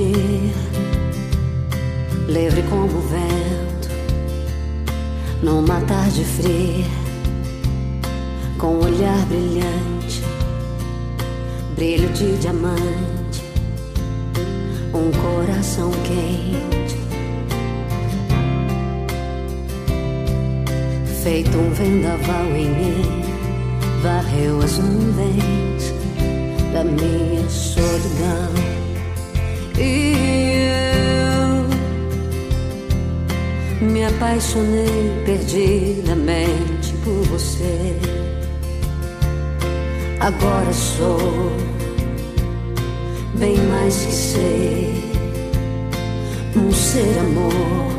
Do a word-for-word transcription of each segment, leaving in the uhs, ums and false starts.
dia, livre como o vento, numa tarde fria, com um olhar brilhante, brilho de diamante, um coração quente, feito um vendaval em mim, varreu as nuvens da minha solidão. E eu me apaixonei perdidamente por você. Agora sou bem mais que ser um ser amor.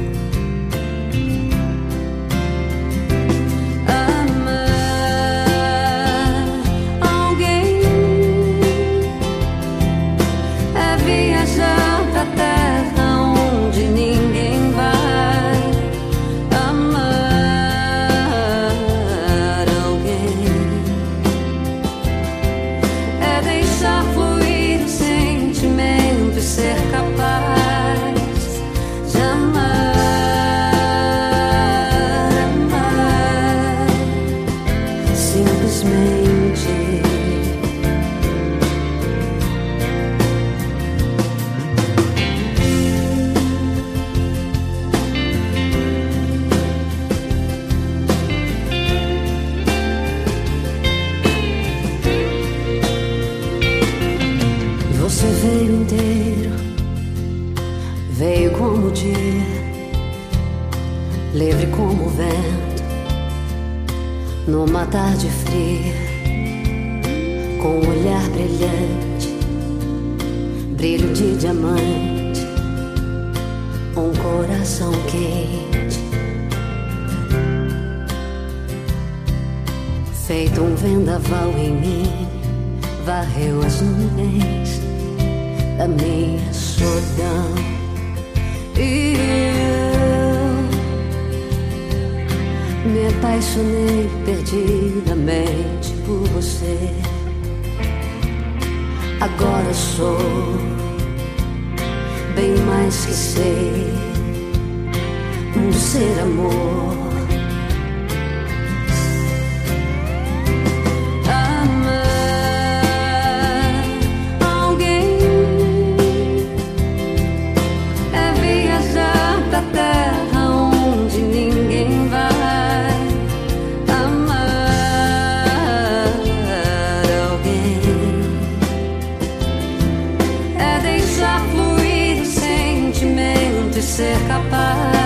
Você veio inteiro, veio como o dia, livre como o vento, numa tarde fria, com um olhar brilhante, brilho de diamante, um coração quente, feito um vendaval em mim, varreu as nuvens da minha solidão. E eu me apaixonei perdidamente por você. Agora sou bem mais que ser um ser amor. Ser capaz